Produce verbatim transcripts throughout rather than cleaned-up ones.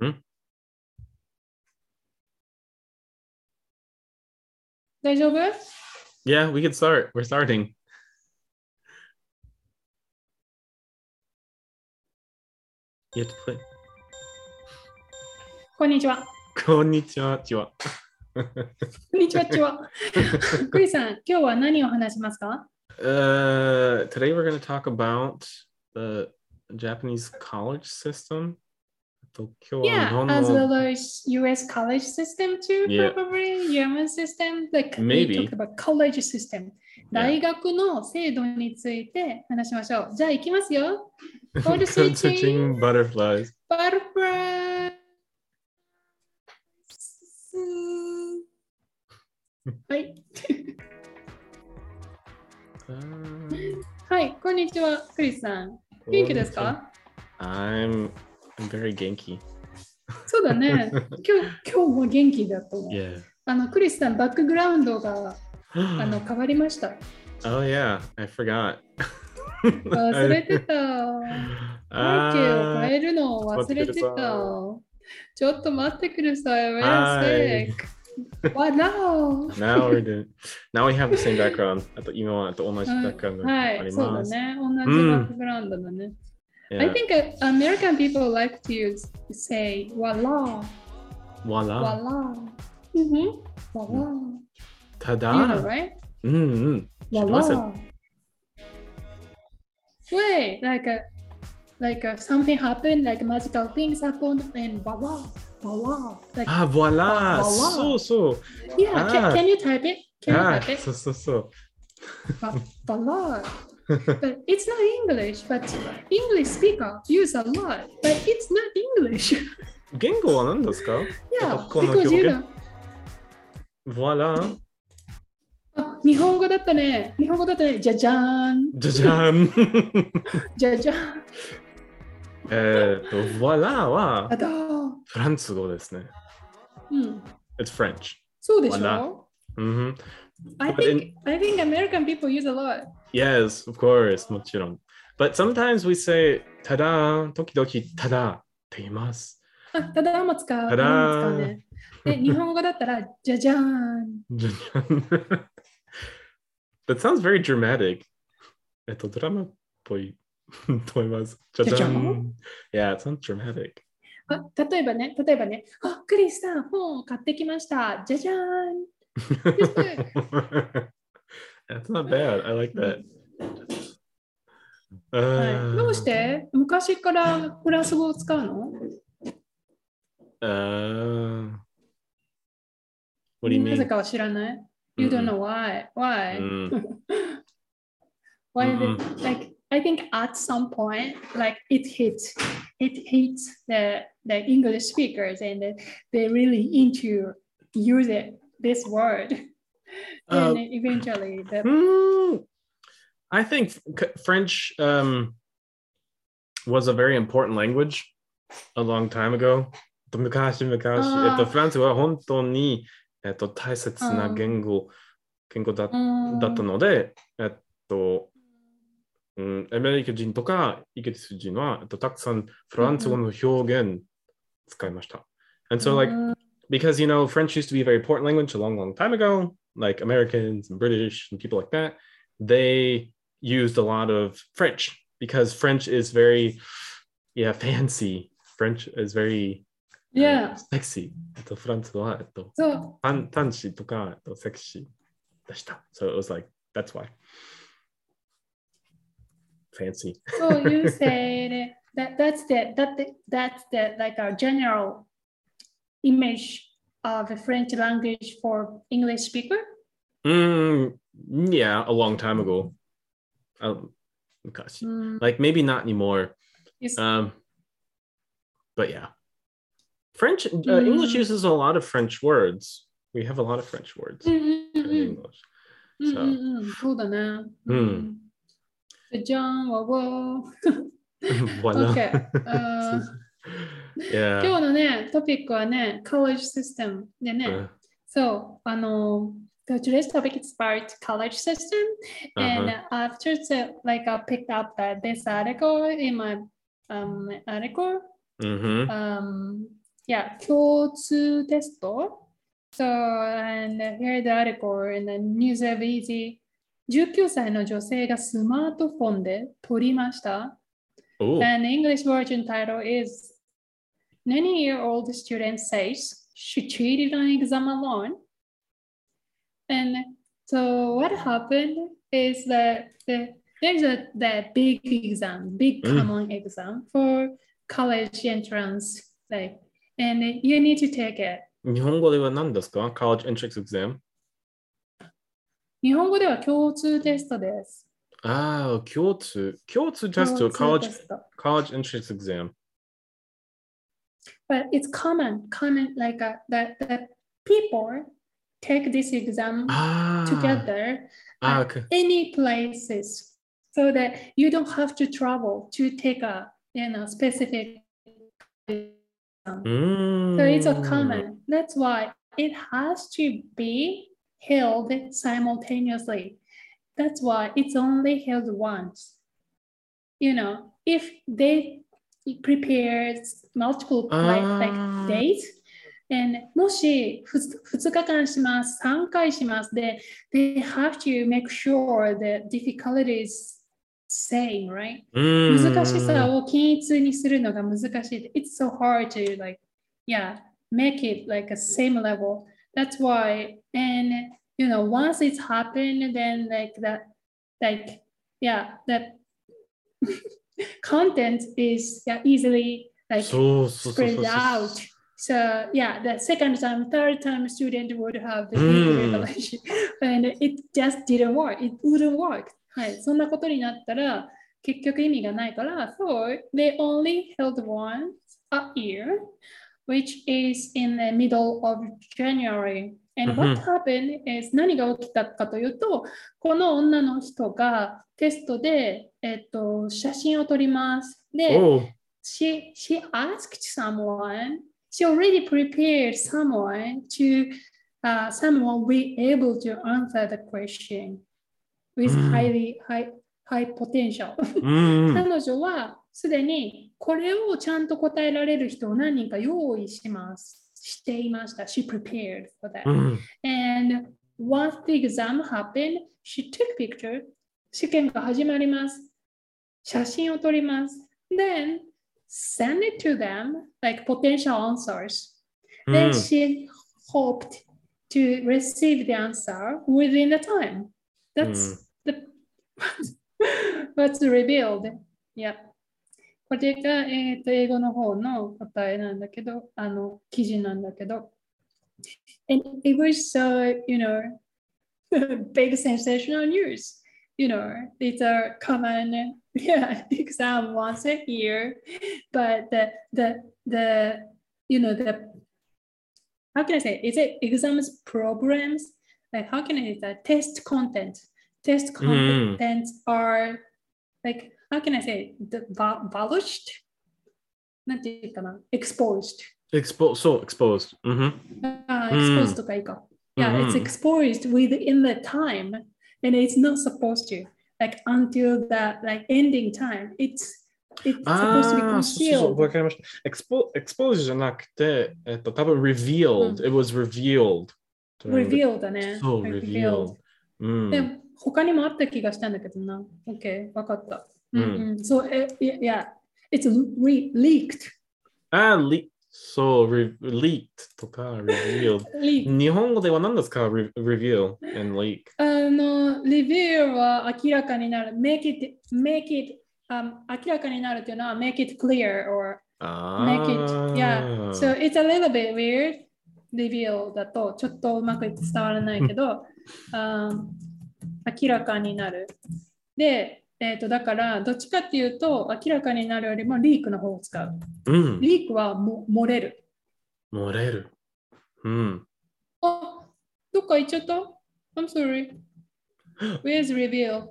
Hmm? 大丈夫？ Yeah, we could start. We're starting. You have to play. こんにちは。 こんにちは。ちは。 こんにちは、ちは。クリさん、今日は何を話しますか？ Uh, today we're going to talk about the Japanese college system. と今日は日 Yeah, 本 as の well as U S college system too, Yeah. probably German system. Like we Maybe. talked about college system. Yeah. 大学の制度について話しましょう。じゃあ行きますよ。Code Code switching. switching butterflies. Butterfly. はい。 Uh, はい、こんにちは、クリスさん。元気ですか？ I'm, I'm very genki. そうだね。今日、今日も元気だと思う。 Yeah. あの、クリスさん、バックグラウンドがあの変わりました。 Oh yeah, I forgot. 忘れてた。背景を変えるのを忘れてた。ちょっと待ってください。Wait a sec. Wow. Now we're doing. Now we have the same background. あと今はと同じバックグラウンドがあはい、 りそうだます。 ね。同じバックグラウンドだね。I Yeah. think uh, American people like to use, say, voila. Voila. Voila. Mm-hmm. Voila. ただ。 You know, right? うんうん。知ってます。 Voila. Wait, like a, like a, something happened, like magical things happened, and voila, voila. Like, あ、voila. voila. そうそう。 yeah, can, あ can you type it? Can you あ、 type it? そうそうそう。 Va- Voila. But it's not English, but English speaker use a lot, but it's not English. 言語は何ですか？ Yeah, この because 表 you 現 know. voila. あ、日本語だったね。日本語だったね。じゃじゃーん。 じゃじゃん。 じゃじゃーん。 えっと、voila はあだー。 フランス語ですね。 うん。 It's French. そうでし Voila. ょ Mhm. I But think, I think American people use a lot. Yes, of course, もちろん。But sometimes we say ただ、時々ただって言います。 あ、ただも使う。 ただただも使うね。で、日本語だったら、じゃじゃーん。 じゃじゃん。That sounds very dramatic. えっと、ドラマっぽいと思います。じゃじゃん。Yeah, it sounds dramatic. あ、例えばね、例えばね、あ、クリスさん、本を買ってきました。じゃじゃーん。 That's not bad. I like that. はい、どうして昔からフランス語を使うの？ Uh, what do you なぜ mean? かは知らない。You don't know why. Why? Why is it like I think at some point like it hits it hits the the English speakers and they really into use it this word. Uh, And eventually the Hmm, I think c- French um, was a very important language a long time ago. 昔々、 あーえっと、フランスは本当に、えっと、大切な言語、言語だ、 うんだったので、えっと、うん、アメリカ人とかイギリス人は、えっと、たくさんフランス語の表現使いました。And so like, because you know, French used to be a very important language a long, long time ago, like Americans and British and people like that, they used a lot of French because French is very, yeah, fancy. French is very Yeah. uh, sexy. えっと、フランス語は、えっと、 そうパン、パンチとか、えっと、セクシーでした。So it was like, that's why. Fancy. So you say that that's the that the, that's the like a general image of the French language for English speaker? Mm, yeah, a long time ago. Um, gosh, Mm. like maybe not anymore. Yes. Um, but yeah, French, uh, Mm. English uses a lot of French words. We have a lot of French words in English. うんうん So, うんうん、そうだね。 うんじゃんわわ。 voila. Okay. あー Yeah. 今日のね、トピックはね、college system でね、 Uh, そう、あの、so today's topic is about college system, and uh-huh. after so, like I picked up that this article in my um article, Mm-hmm. um, yeah, 共通テスト。So, and here the article in the News of Easy じゅうきゅうさいの女性がスマートフォンで取りました。 Oh. And the English version title is ninety-year-old student says she cheated on exam alone. And so what happened is that the, there's a that big exam, big common mm. exam for college entrance, like, and you need to take it. 日本語では何ですか ?College entrance exam? 日本語では共通テストです。 ああ、共通。共通テスト、college, college entrance exam. But it's common, common, like a, that, that people take this exam ah. together ah, at okay. any places so that you don't have to travel to take a you know specific exam. Mm. So it's a common. That's why it has to be held simultaneously. That's why it's only held once. You know, if they prepare multiple like, like days, and もしふつかかんします、さんかいします。で、they have to make sure the difficulty is same, right? 難しさを均一にするのが難しい。It's so hard to like, yeah, make it like a same level. That's why, and you know, once it's happened, then like that, like, yeah, that content is yeah, easily like so, so, spread so, so, so, out. So yeah, the second time, third time student would have the big revelation and it just didn't work. It wouldn't work. はい、そんなことになったら結局意味がないから、so they only held one a year, which is in the middle of January. And what happened is 何が起きたかというと、この女の人がテストで、えっと、写真を撮ります。で、oh. she, she asked someone,She already prepared someone to uh, someone be able to answer the question with mm. highly high high potential. 彼女はすでにこれをちゃんと答えられる人を何人か用意します。していました。She prepared for that. Mm. And once the exam happened, she took picture. 試験が始まります。写真を撮ります。Then send it to them like potential answers. Mm. Then she hoped to receive the answer within the time. That's mm. the what's revealed. Yeah. これが、えーと、英語の方の答えなんだけど、あの記事なんだけど。And it was so, you know, big sensational news. You know, it's a common yeah, exam once a year, but the the the you know the how can I say? Is it exams programs? Like how can I say that test content? Test content mm. are like how can I say the abolished? なんていうかな exposed. Exposed, so exposed. Mm-hmm. Uh, exposed とかいいか。Yeah, mm-hmm. it's exposed within the time, and it's not supposed to. Like until that like ending time, it's it's supposed to be concealed. そうそう、わかりました。Expo exposed じゃなくて、えっと、多分 revealed. It was revealed. Revealed だね。 そう、revealed. でも、他にもあった気がしたんだけどな。OK、わかった。うんうん。So, yeah, it's leaked. あ、leaked. そう、re leaked とか revealed。日本語では何ですか reveal and leak。 あの、reveal は明らかになる。make it, make it、um, 明らかになるっていうのは make it clear or make it, yeah. So it's a little bit weird. reveal だとちょっとうまく伝わらないけど、um, 明らかになる。で、えー、とだからどっちかっていうと明らかになるよりもリークの方を使う。うん、リークはも漏れる。 漏れる。うん。 あ、どっか行っちゃった ?I'm sorry. Where's reveal?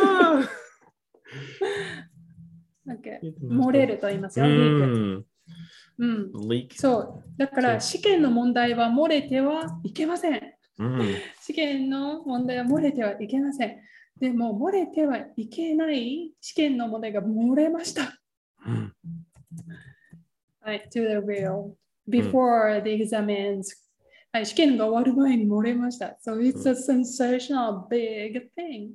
okay. 漏れると言いますよ。リーク。うん。リーク。そう。だから試験の問題は漏れてはいけません。うん、試験の問題は漏れてはいけません。でも漏れてはいけない試験の問題が漏れました。うん、はい、to the real. before the exams. はい、試験が終わる前に漏れました。So it's a sensational big thing.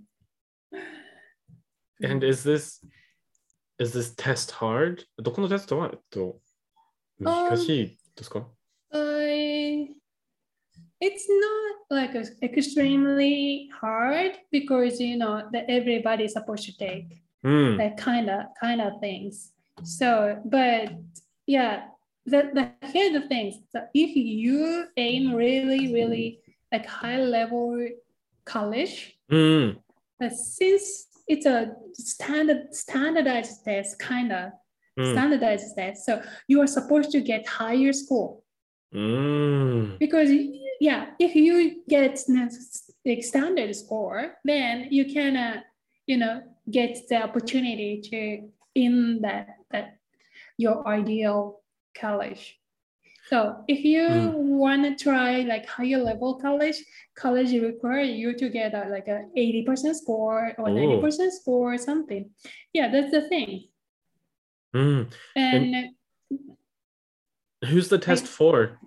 And is this is this test hard? どこのテストは、えっと、難しいですか？ I, it's not like a, extremely hard because you know that everybody's supposed to take Mm. that kind of kind of things. So, but yeah, the the here the things. So if you aim really really like high level college, Mm. but since it's a standard standardized test, kind of Mm. standardized test, so you are supposed to get higher score. Mm. Because yeah, if you get the standard score, then you can, uh, you know, get the opportunity to in that that your ideal college. So if you Mm. want to try like higher level college, college require you to get a, like a eighty percent score or Oh. ninety percent score or something. Yeah, that's the thing. Mm. And, And who's the test I- for?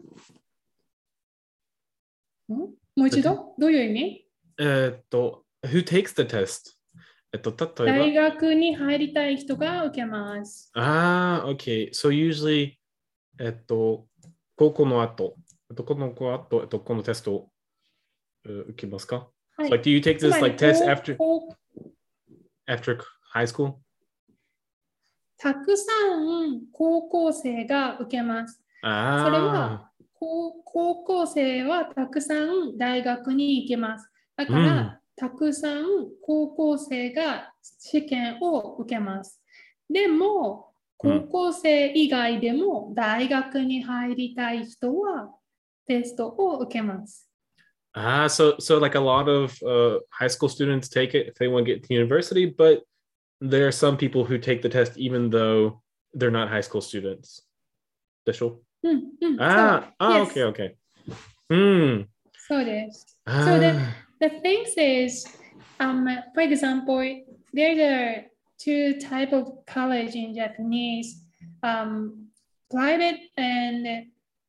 もう一度どういう意味？ えーっと、who takes the test? えっと、例大えば、 学に入りたい人が受けます。 ああ、okay. So usually, えっと、高校の後、どこの後、えっと、このテストをえー受けますか？ はい So like, do you take つま this り like test 高 after 高 after high school? たくさん高校生が受けます。それはあ高高校生はたくさん大学に行けます。だかうんら、たくさん高校生が試験を受けます。でも、高校生以外でも大学に入りたい人はテストを受けます。 あ、ah, so so like a lot of uh, high school students take it if they want to get to university, but there are some people who take the test even though they're not high school students. でしょ？ うんうん、 ああ、 そう。 ah, okay, okay. うん。 そうです。 あ So the, ー the thing is, um, for example, there's a two type of college in Japanese, um, private and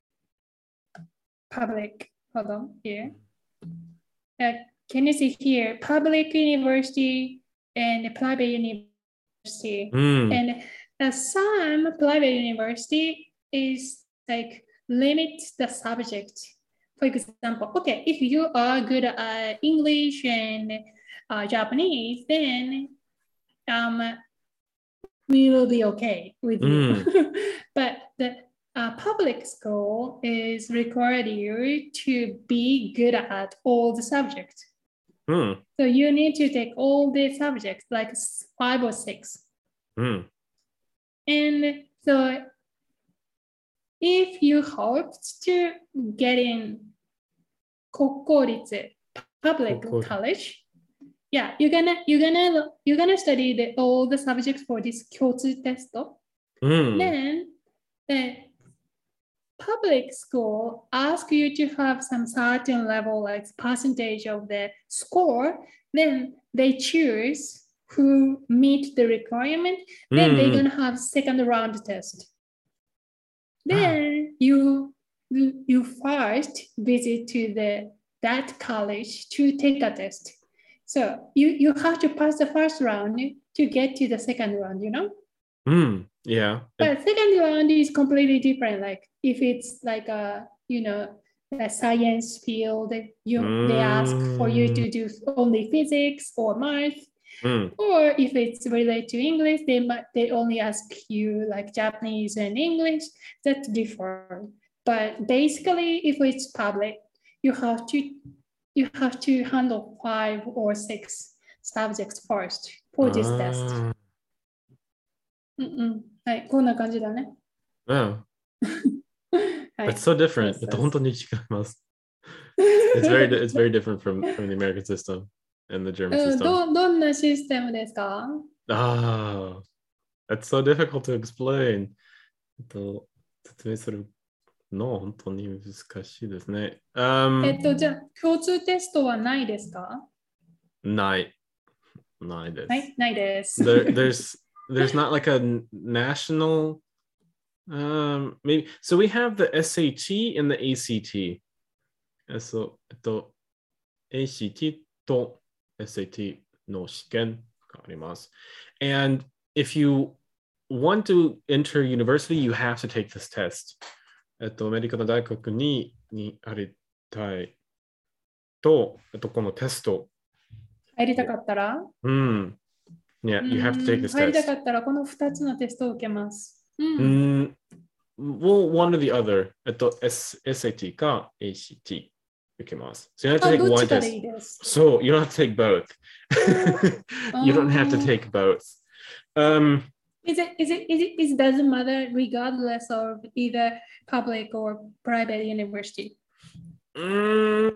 public. Hold on here. Uh, can you see here? Public university and private university. うん。 And uh, some private university is like limit the subject. For example, okay, if you are good at English and uh, Japanese, then um, we will be okay with you. But the uh, public school is required you to be good at all the subjects. うん。 So you need to take all the subjects, like five or six. うん。 And so if you hoped to get in 国公立 public 国公立 college, yeah, you're gonna you're gonna you're gonna study the, all the subjects for this 共通 test. うん。 Then the public school ask you to have some certain level, like percentage of the score. Then they choose who meet the requirement. Then they're gonna have second round test. Then you you first visit to the that college to take a test. So you you have to pass the first round to get to the second round, you know. うん。Yeah. But second round is completely different. Like if it's like a you know a science field, you they ask for you to do only physics or math. うん。 Or if it's related to English, they might they only ask you like Japanese and English. That's different. But basically, if it's public, you have to you have to handle five or six subjects first for this test. あうんうん。はい、こんな感じだね。 ーうん。 はい。 That's so different. そうそうそう。 えっと、本当に違います。It's very, it's very different from, from the American system and the German うん、 system. どどんなシステムですか？ Ah, that's so difficult to explain. えっと、説明するの本当に難しいですね。Um, えっと、じゃあ、共通テストはないですか？ ない。ないです。 はい、ないです。 There, there's, there's not like a national Um, maybe so we have the S A T and the A C T. えそう、えっと、エーシーティー と エスエーティー の試験があります。And if you want to enter university, you have to take this test. えっと、アメリカの大学ににありたいと、えっと、このテスト。 入りたかったら、 うん。Yeah, you have to take this 入りた test. かったら、このふたつのテストを受けます。う。 うんん。Well, one or the other. えっと、S- エスエーティー か エーシーティー 受けます。So you have to あ、 take どっ one ちかで test. いいです。 So you don't have to take both. You don't have to Um, take both. Um, Is it, is it, is it, it doesn't matter regardless of either public or private university. mm,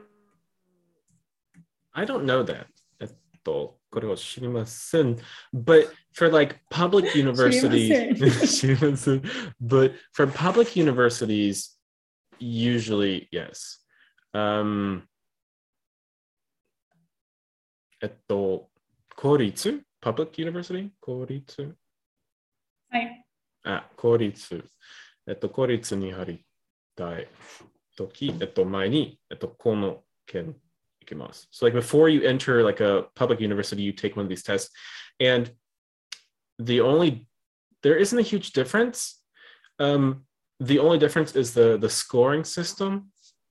I don't know that. えっと、これは知りません。But for like public universities, 知りません。But for public universities, usually yes. Um, えっと、公立 public university? 公立はい。 あ、公立。えっと、公立に入りたいとき、えっと、前に、えっと、この件いきます。So like before you enter like a public university, you take one of these tests. And the only, there isn't a huge difference. Um, the only difference is the, the scoring system.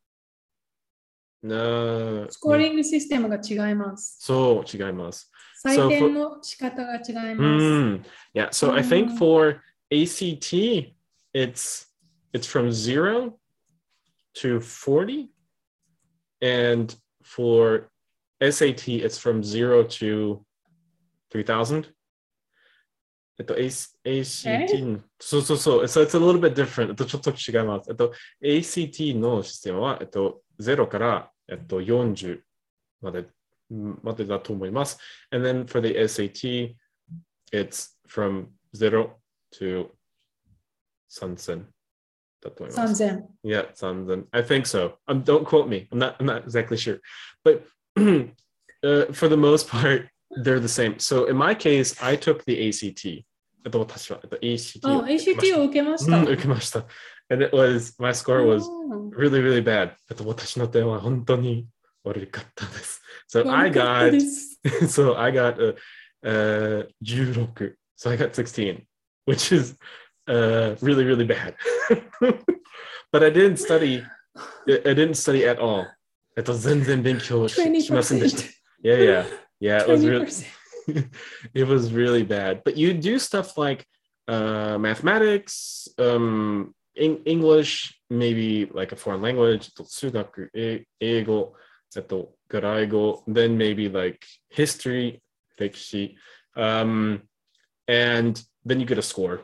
なスコーリングシステムが違います。 そう、違います。 採点の仕方が違います。 Mm, yeah, so I think for A C T, it's it's from zero to forty, and for S A T, it's from zero to three thousand. えっと、A C T、そうそうそう、so it's a little bit different. えっと、ちょっと違います。えっと、エーシーティー のシステムは、えっと、ゼロから、えっと、よんじゅうまで、までだと思います。And then for the S A T, it's from zero to さんぜんだと思います。 さんぜん Yeah, さんぜん I think so. Um, don't quote me. I'm not, I'm not exactly sure. But uh, for the most part, they're the same. So in my case, I took the A C T. えっと、私は、えっと、エーシーティー をエーシーティー を受けました。 うん、受けました。And it was, my score was really, really bad. えっと、私の点は本当に悪かったです。So I got, so I got a, uh, じゅうろく. So I got sixteen, which is uh, really, really bad. But I didn't study, I didn't study at all. えっと、全然勉強し, しませんでした。Yeah, yeah, yeah. It was really, it was really bad. But you do stuff like uh, mathematics, um, in English, maybe like a foreign language, 数学、英語、えっと、外来語, then maybe like history, 歴史, um, and then you get a score.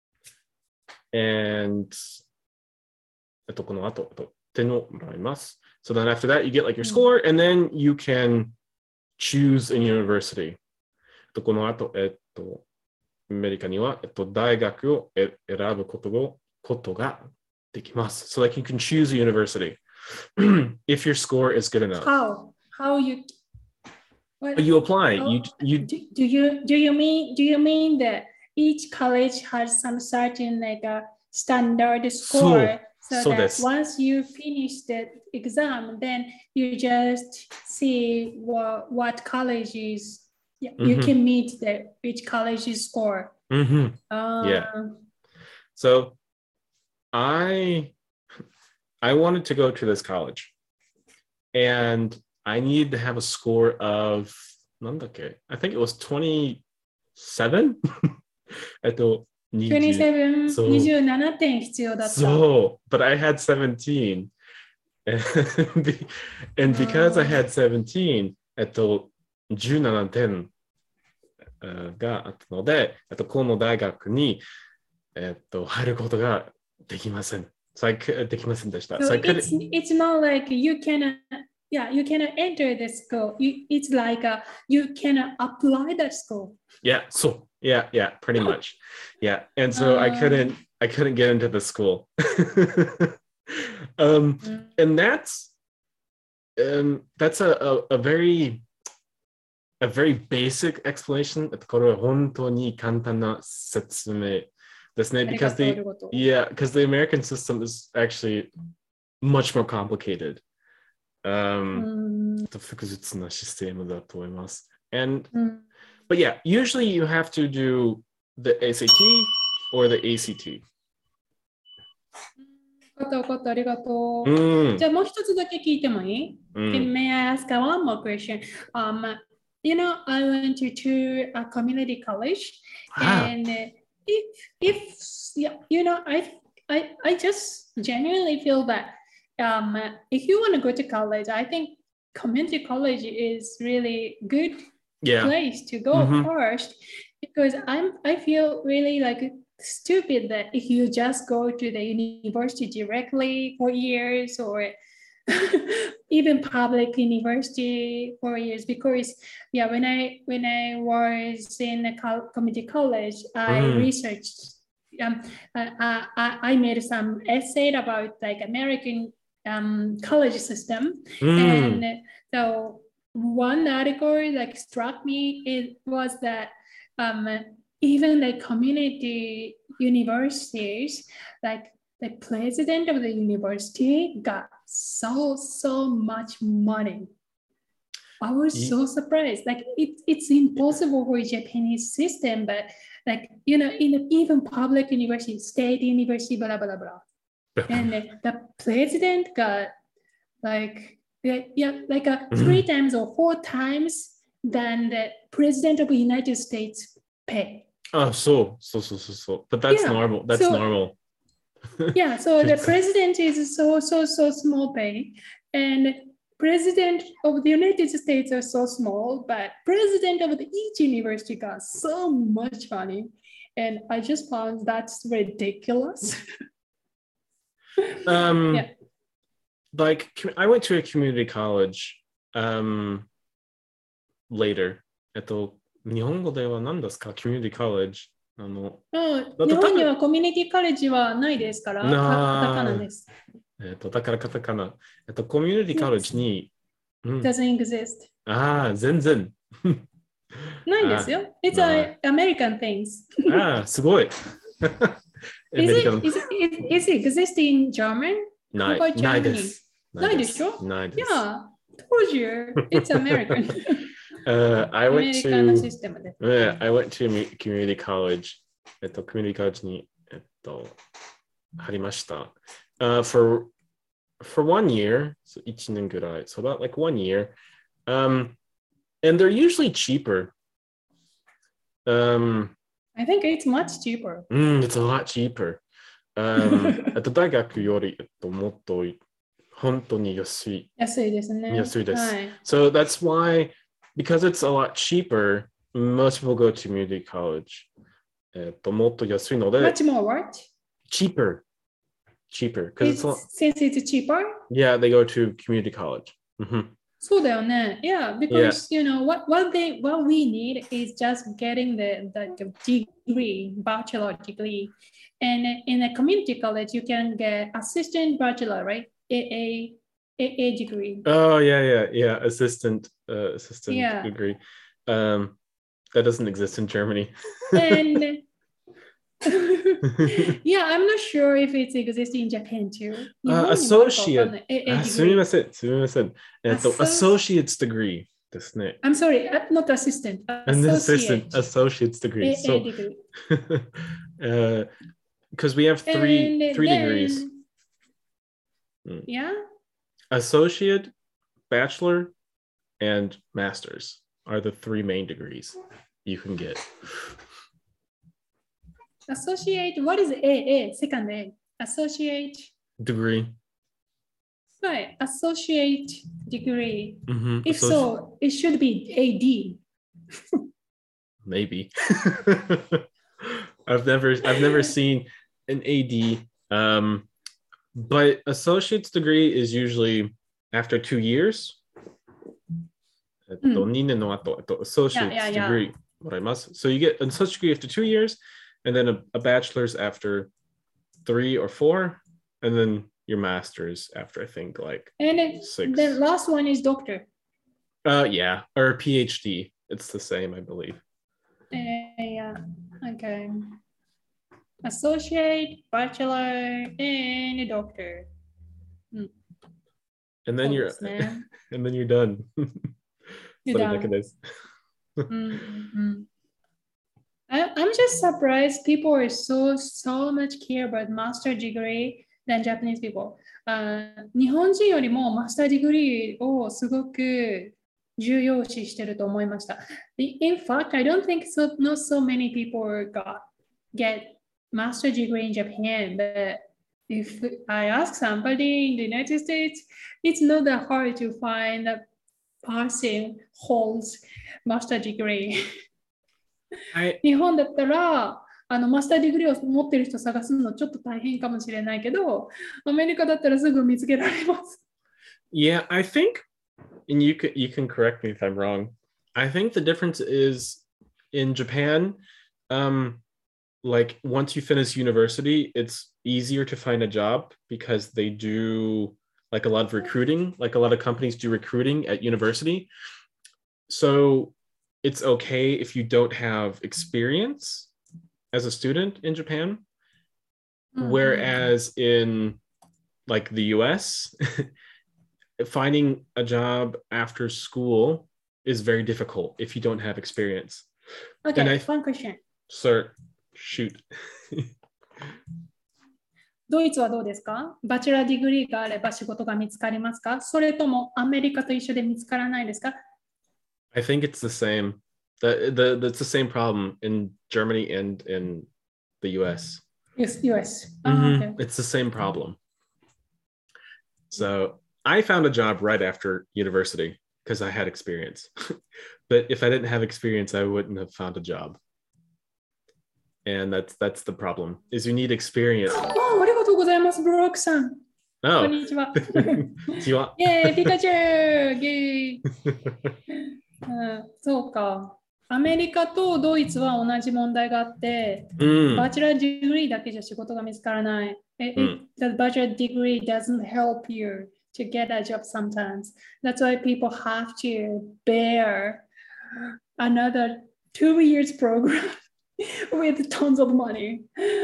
And えっと、この後、えっと、点をもらいます。So then after that, you get like your score, and then you can choose a university. この後、えっと、アメリカには、えっと、大学を選ぶことをことができます。So like you can choose a university if your score is good enough. How? How you? What? You apply. How, you you do, do you do you mean do you mean that each college has some certain like a standard score? So, so that once you finish the exam, then you just see what what colleges you mm-hmm. can meet the which college's score. Mm-hmm. Uh, yeah. So I I wanted to go to this college, and I needed to have a score of I think it was twenty-seven. えっと twenty-seven, そう。にじゅうななてん必要だった。 So, but I had seventeen. And, and because I had seventeen, えっと、じゅうななてんがあったので、えっと、この大学に、えっと、入ることができません。So I could, できませんでした。 So, so it's, it's not like you cannot, yeah, you cannot enter the school. You, it's like a, you cannot apply the school. Yeah, so yeah, yeah, pretty much. Yeah. And so uh, I couldn't I couldn't get into the school. um and that's um that's a, a, a very a very basic explanation. これは本当に簡単な説明ですね。 because the yeah, because the American system is actually much more complicated. Um, 複雑なシステムだと思います。And but yeah, usually you have to do the S A T or the A C T. わかったわかったありがとう。じゃあもう一つだけ聞いてもいい？ May I ask one more question? Um, you know, I went to, to a community college, and if if you know, I I I just genuinely feel that um, if you want to go to college, I think community college is really good yeah. place to go mm-hmm. first, because I'm I feel really like stupid that if you just go to the university directly for years, or even public university for years, because yeah, when I when I was in a co- community college, I mm. researched. Um, I, I I made some essay about like American um, college system, mm. and so one article like struck me. It was that um, even the community universities, like the president of the university got so so much money. I was yeah. so surprised. Like it, it's impossible for a Japanese system, but like you know, in even public university, state university, blah blah blah, and the president got like yeah, yeah like a three mm-hmm. times or four times than the president of the United States pay. Oh, so so so so so. But that's yeah. normal. That's so, normal. Yeah, so the president is so so so small pay, and president of the United States are so small, but president of the, each university got so much money, and I just found that's ridiculous. um, yeah. Like I went to a community college um, later. えっと日本語では何ですか？ community college。あの、 日本にはコミュニティカレッジはないですから、カタカナです。 えっと、だからカタカナ。えっと、コミュニティカレッジに、 うん、doesn't exist. ああ、全然。 ないですよ。It's a American things. ああ、すごい。 is, it, is, it, is it exist in German? ない。ないです。 ないでしょ？ ないです。 Yeah, told you. It's American. Uh, I went to yeah, I went to community college. えっと community college にえっと入りました。Uh, for for one year, so 一年ぐらい, so about like one year. Um, and they're usually cheaper. Um, I think it's much cheaper. Mm, it's a lot cheaper. Um, えっと大学よりえっともっと本当に安い。 安いですね。 安いです。 はい。 So that's why. Because it's a lot cheaper, most people go to community college. えっと、もっと安いので Much more what? Cheaper. Cheaper. It's, it's a, since it's cheaper? Yeah, they go to community college. Mm-hmm. そうだよね. Yeah, because yeah. you know what what they what we need is just getting the, the degree, bachelor degree. And in a community college, you can get assistant bachelor, right? A A A A degree. Oh yeah, yeah, yeah. Assistant, uh, assistant yeah. degree. Um, that doesn't exist in Germany. And yeah, I'm not sure if it exists in Japan too. Uh, associate. Ah, すみません、すみません。えっと、associate's degree ですね。 I'm sorry, not assistant. An assistant, associate's degree. A A so, degree. uh, because we have three and three then, degrees. Yeah. Associate, bachelor, and master's are the three main degrees you can get. Associate, what is A? A, second A. Associate. Degree. Right, associate degree. Mm-hmm. If Associ- so, it should be A D. Maybe. I've never, I've never seen an A D. Um, But associate's degree is usually after two years. Mm. Associate's yeah, yeah, degree. Yeah. So you get an associate's degree after two years, and then a, a bachelor's after three or four, and then your master's after I think like and it, six. The last one is doctor. Uh, yeah, or PhD. It's the same, I believe. Uh, yeah. Okay. associate, bachelor, and a doctor. And then you're and then you're done. You're done. mm-hmm. I, I'm just surprised people are so so much care about master degree than Japanese people. Uh, 日本人よりもマスターディグリーをすごく重要視してると思いました。In fact, I don't think so, not so many people got get master degree in Japan, but if I ask somebody in the United States, it's not that hard to find a person holds master degree. 日本だったらあのマスターディグリーを持ってる人探すのちょっと大変かもしれないけど、アメリカだったらすぐ見つけられます。 Yeah, I think, and you can you can correct me if I'm wrong. I think the difference is in Japan, um, like once you finish university, it's easier to find a job because they do like a lot of recruiting, like a lot of companies do recruiting at university. So it's okay if you don't have experience as a student in Japan. Mm-hmm. Whereas in like the U S, finding a job after school is very difficult if you don't have experience. Okay, I, one question. Sir, shoot. ドイツはどうですか？バチェラーディグリーがあれば仕事が見つかりますか？それともアメリカと一緒で見つからないですか？ I think it's the same. The, the, that's the same problem in Germany and in the U S. Yes, U S. Mm-hmm. Oh, okay. It's the same problem. So I found a job right after university because I had experience. But if I didn't have experience, I wouldn't have found a job. And that's that's the problem, is you need experience. Oh, ありがとうございます、ブロックさん。 Oh. こんにちは。 こんにちは。 イェーイ、ピカチュウイェーイ、うん、そうか。アメリカとドイツは同じ問題があって、うん、バチェラーディグリーだけじゃ仕事が見つからない。It, it, the bachelor degree doesn't help you to get a job sometimes. That's why people have to bear another two years program with tons of money.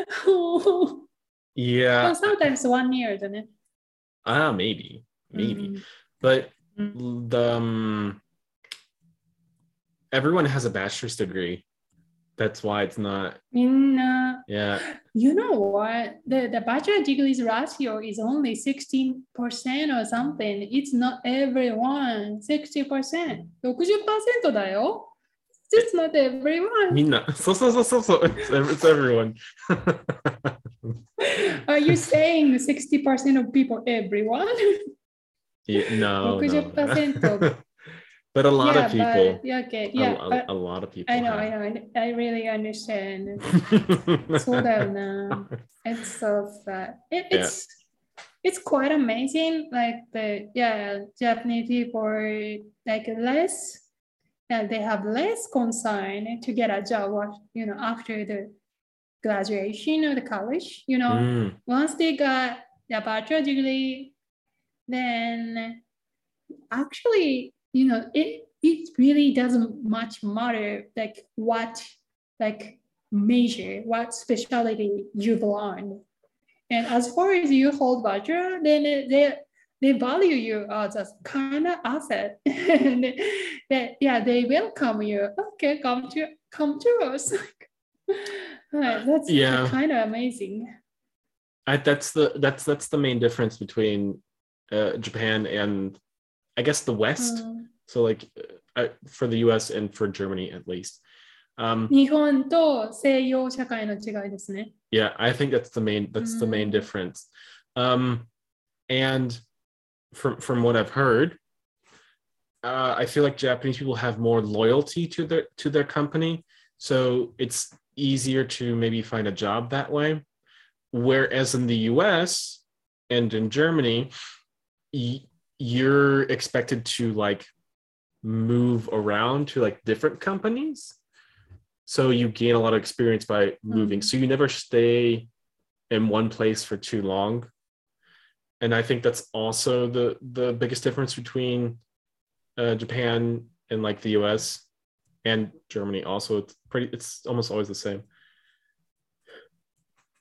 Yeah. Well, sometimes one year, isn't it? Ah, maybe. Maybe. Mm. But mm. the um, everyone has a bachelor's degree. That's why it's not. In, uh, yeah. You know what? The, the bachelor degrees ratio is only sixteen percent or something. It's not everyone. sixty percent. ろくじゅっパーセント だよ。It's not everyone. みんな。そうそうそうそうそう。It's, it's everyone. Are you saying sixty percent of people, everyone? Yeah, no, ろくじゅっパーセント no. But a lot yeah, of people. But, yeah, okay, yeah. A, a, but a lot of people. I know, have. I know. I really understand. そうだよな。It's so sad. It, it's yeah. It's quite amazing. Like the yeah, Japanese people are like less. And they have less concern to get a job, you know, after the graduation or the college. You know, mm. once they got their bachelor degree, then actually, you know, it it really doesn't much matter like what like major, what specialty you've learned. And as far as you hold bachelor, then they they value you as a kind of asset. And they, yeah, they welcome you. Okay, come to come to us. That's yeah. kind of amazing. I, that's the that's that's the main difference between uh, Japan and I guess the West. Mm. So like uh, for the U S and for Germany at least. Um, 日本と西洋社会の違いですね。 Yeah, I think that's the main that's mm. the main difference. Um, and from from what I've heard, uh, I feel like Japanese people have more loyalty to their to their company, so it's easier to maybe find a job that way. Whereas in the U S and in Germany, y- you're expected to like move around to like different companies, so you gain a lot of experience by moving. Mm. So you never stay in one place for too long. And I think that's also the, the biggest difference between uh, Japan and like the U S and Germany. Also, it's pretty. It's almost always the same.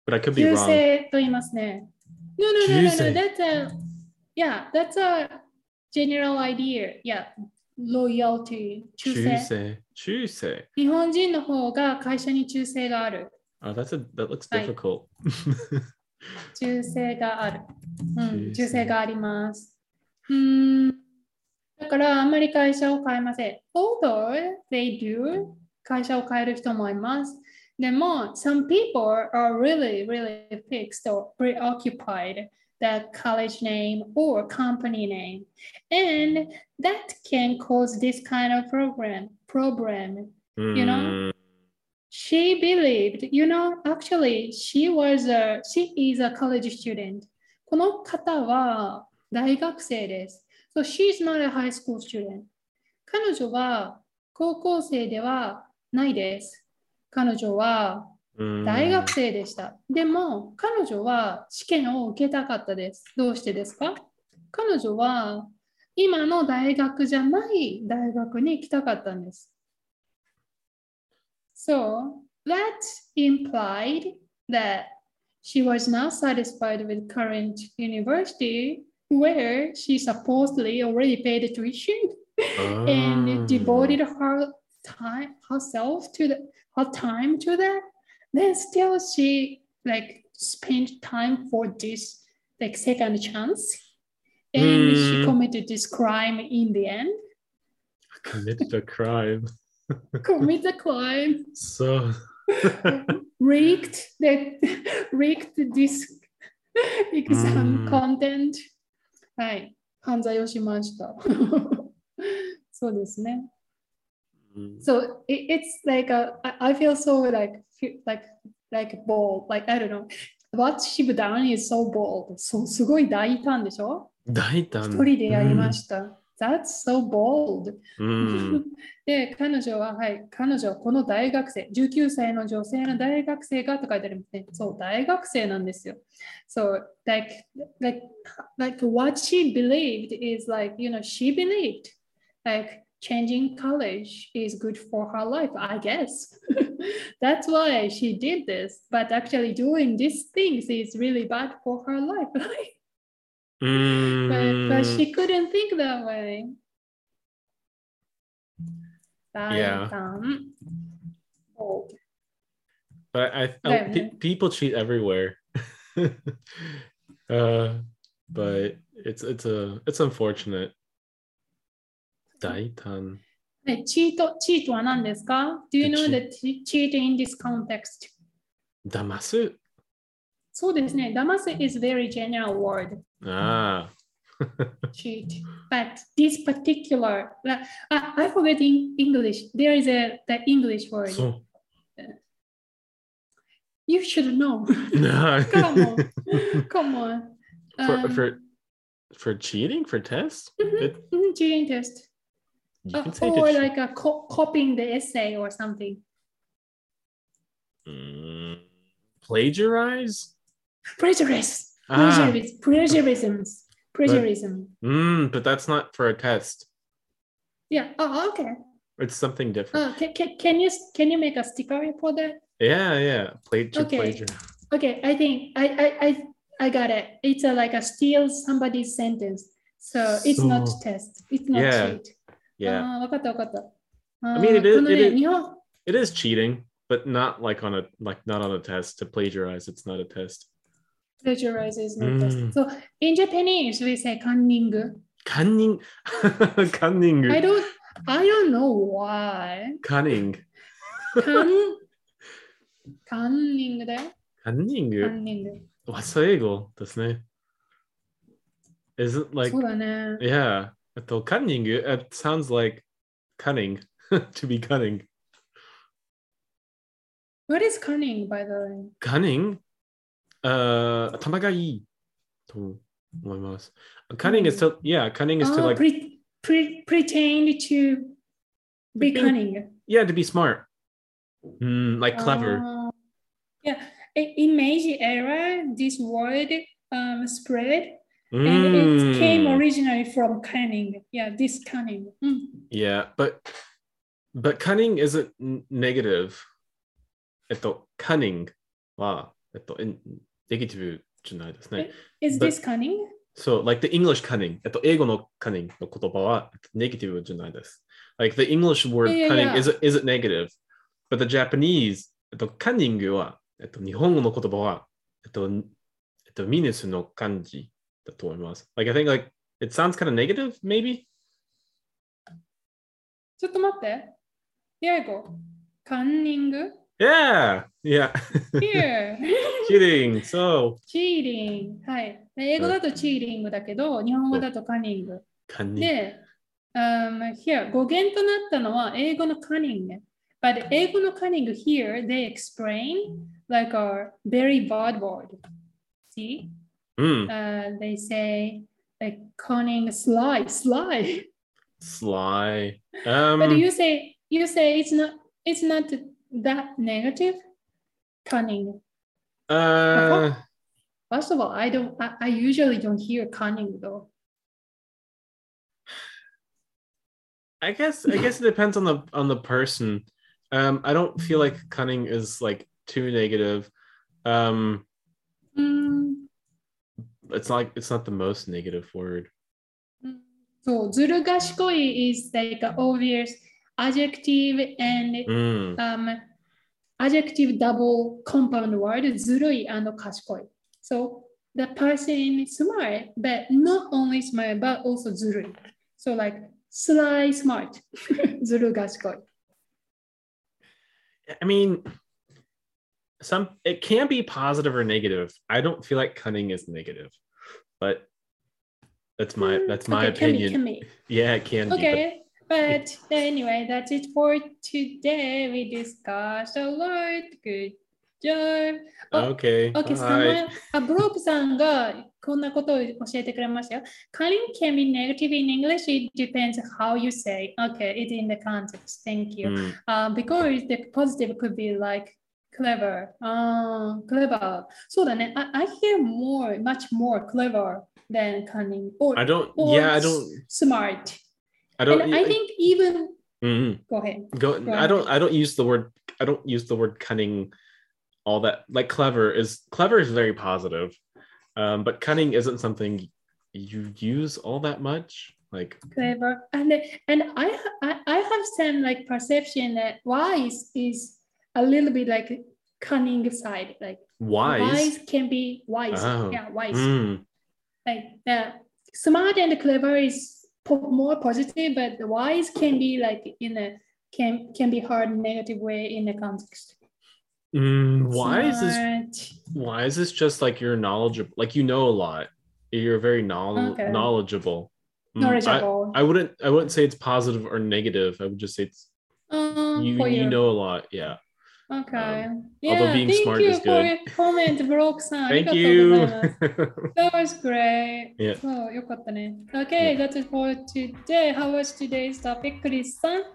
but I could be 旧 wrong. 姓と言いますね。No, no, no, 旧 no, no. 姓 That's a, yeah, that's a general idea. Yeah, loyalty. 忠中誠。 世中世日本人の方が会社に忠誠がある。 Oh, that's a, that looks はい difficult. 忠誠がある。うん、 忠誠忠誠があります。うん。だからあんまり会社を変えません。Although they do 会社を変える人もいます。でも、some people are really, really fixed or preoccupied the college name or company name. And that can cause this kind of program, problem. You know? She believed, you know, actually, she was a, she is a college student. この方は大学生です。So she's not a high school student. 彼女は高校生ではないです。彼女は大学生でした。でも、彼女は試験を受けたかったです。どうしてですか？彼女は今の大学じゃない大学に行きたかったんです。So that implied that she was not satisfied with current university where she supposedly already paid the tuition and devoted her time herself to the her time to that. Then still she like spent time for this like second chance and Mm. she committed this crime in the end. Committed a crime. Commit a crime. So Rigged the rigged this exam うん content. はい、犯罪をしました。そうですね。So it, it's like a, I I feel so like like like bold. Like I don't know. What she done is so bold. そうすごい大胆でしょ？ 大胆。 一人でやりました。That's so bold. うんで、彼女は、はい、彼女はこの大学生、じゅうきゅうさいの女性の大学生がと書いてありますね。そう、大学生なんですよ。So, like, like, like what she believed is like, you know, she believed like changing college is good for her life, I guess. That's why she did this. But actually doing these things is really bad for her life. but, but she couldn't think that way. Yeah. Um, oh. But I, I Yeah. pe- people cheat everywhere. uh, but it's it's a it's unfortunate. 大胆。 はい、チート、チートは何ですか？ Do you know the cheat in this context? 騙す。 そうですね。騙す is very general word. ああ。 cheat. But this particular, uh, I forget in English. There is a the English word. そう。 You should know. No. Come on. Come on. For, Um, for, for cheating? For tests? mhm, It, mhm, cheating test. you Uh, can say or to like a co- copying the essay or something. Mm, plagiarize? Plagiarism. Ah. Plagiarism. Plagiarism. Plagiarism. Mm, but that's not for a test. Yeah. Oh, okay. It's something different. Uh, can, can, can you can you make a sticker for that? Yeah, yeah. Plag- Okay. plagiarize. Okay. I think I I I, I got it. It's a, like a steal somebody's sentence. So it's not So- test. It's not Yeah. cheat. Yeah. ああ、わかったわかった。 I mean, it あー is- この it ね、 is- 日本、 It is cheating, but not like on a like not on a test. To plagiarize, it's not a test. plagiarize is not Mm. test. So in Japanese we say cunning. Cunning. Cunning. I don't I don't know why. Cunning. Cun cunning だよ。 Cunning. cunning。 What's the ego? ですね。Is it like そうだね。 yeah? えっと cunning. It sounds like cunning. To be cunning. What is cunning, by the way? Cunning? Uh, 頭がいいと思います。Cunning is to yeah. Cunning is to Ah, like pre, pre, pretend to be Being- cunning. yeah to be smart. Mm, like clever. Ah, yeah. I- In Meiji era, this word um, spread and it came Mm, originally from cunning. Yeah, this cunning. Mm. yeah, but but cunning isn't n- negative. えっと cunning はえっと、ネガティブじゃないですね。 Is this cunning? So, like the English cunning, えっと、英語の cunning の言葉はネガティブじゃないです。Like the English word Yeah, yeah, cunning yeah. isn't, isn't negative, but the Japanese, えっと、cunning は、えっと、日本語の言葉は、えっと、えっと、ミネスの漢字だと思います。Like, I think like, it sounds kind of negative, maybe? ちょっと待って。英語。カンニング Yeah, yeah. Here. Cheating, so. チーリング。はい。英語だとチーリングだけど、日本語だとカニング。 カニング。 で、um, here 語源となったのは英語のカニング。But 英語のカニング here, they explain like a very bad word. See? Mm. Uh, they say like cunning, sly, sly. Sly. Um, But you say you say it's not it's not that negative. Cunning. uh, First of all, I don't I, I usually don't hear cunning though. I guess I guess it depends on the on the person. Um, I don't feel like cunning is like too negative. Um, Mm, it's like it's not the most negative word. so ずる賢い is like an obvious adjective and Mm. um, adjective double compound word ずるい and 賢い. So the person is smart, but not only smart, but also ずるい. So like sly smart. ずる賢い. I mean, some it can be positive or negative. I don't feel like cunning is negative, but that's my that's my okay, opinion. Can be, can be. Yeah, it can okay, be. But... but anyway, that's it for today. We discussed a lot. Good job. Okay. Okay, あ、ブロークさんがこんなことを教えてくれましたよ。Cunning can be negative in English. It depends how you say. Okay, it's in the context. Thank you. Mm. Uh, because the positive could be like clever. Uh, clever. そうだね。I, I hear more, much more clever than cunning. Or, I don't. or yeah, I don't. Smart. I don't. And I think even. Mm-hmm. Go ahead. Go. Go I ahead. don't. I don't use the word. I don't use the word cunning. All that like clever is clever is very positive, um, but cunning isn't something you use all that much. Like clever, and and I I, I have some like perception that wise is a little bit like cunning side. Like wise, wise can be wise. Oh. Yeah, wise. Mm. Like the smart and clever is po- more positive, but the wise can be like in a can can be hard negative way in the context. Mm, wise is wise is just like you're knowledgeable, like you know a lot. You're very knowl- okay. knowledgeable. Mm, knowledgeable. I, I wouldn't I wouldn't say it's positive or negative. I would just say it's um, you, you you know a lot. Yeah. Okay. Um, yeah, although being thank smart you is for good. your comment, Brock-san. Thank you. That was great. Yeah. So, よかったね. Okay, yeah. That's it for today. How was today's topic, Chris-san?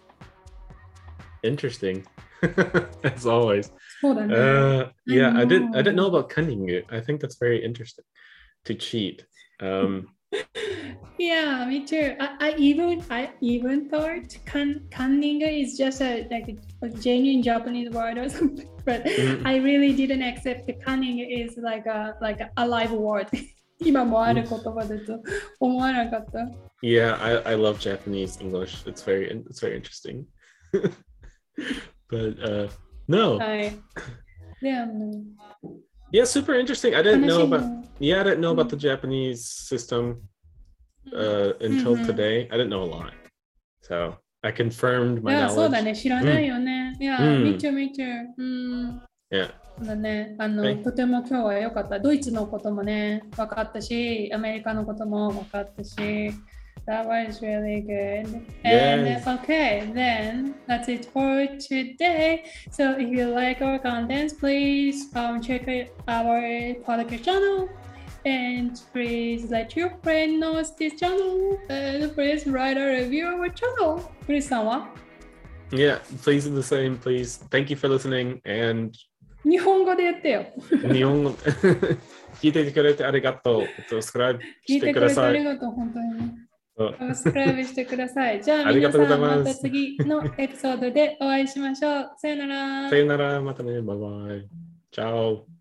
Interesting. As always. Uh, yeah, I, I didn't I didn't know about cunning. I think that's very interesting to cheat. Um, yeah, me too. I, I even I even thought can, cunning is just a like a, a genuine Japanese word or something, but mm-hmm. I really didn't accept the cunning is like a like a live word. 今もある言葉だと思わなかった。 Yeah, I, I love Japanese English. It's very it's very interesting. But uh no. Yeah. Yeah, super interesting. I didn't know about yeah, I didn't know about the Japanese system uh until mm-hmm. today. I didn't know a lot. So I confirmed my knowledge. そうだね、知らないよね。いや、me too, me too. うん。 Yeah. そうだね、あの、とても今日は良かった。ドイツのこともね、分かったし、アメリカのことも分かったし。That was really good. Yes. And okay, then that's it for today. So if you like our contents, please um, check our podcast channel. And please let your friend know this channel. And please write a review of our channel. Please, Sama. Yeah, please do the same, please. Thank you for listening. And 日本語で言ってよ。 日本語聞いてくれてありがとう。サブスクライブしてください。 聞いてくれてありがとう、本当に。サブスクライブしてください。じゃあ皆さんまた次のエピソードでお会いしましょう。さよなら。 さよなら。またね。バイバイ。チャオ。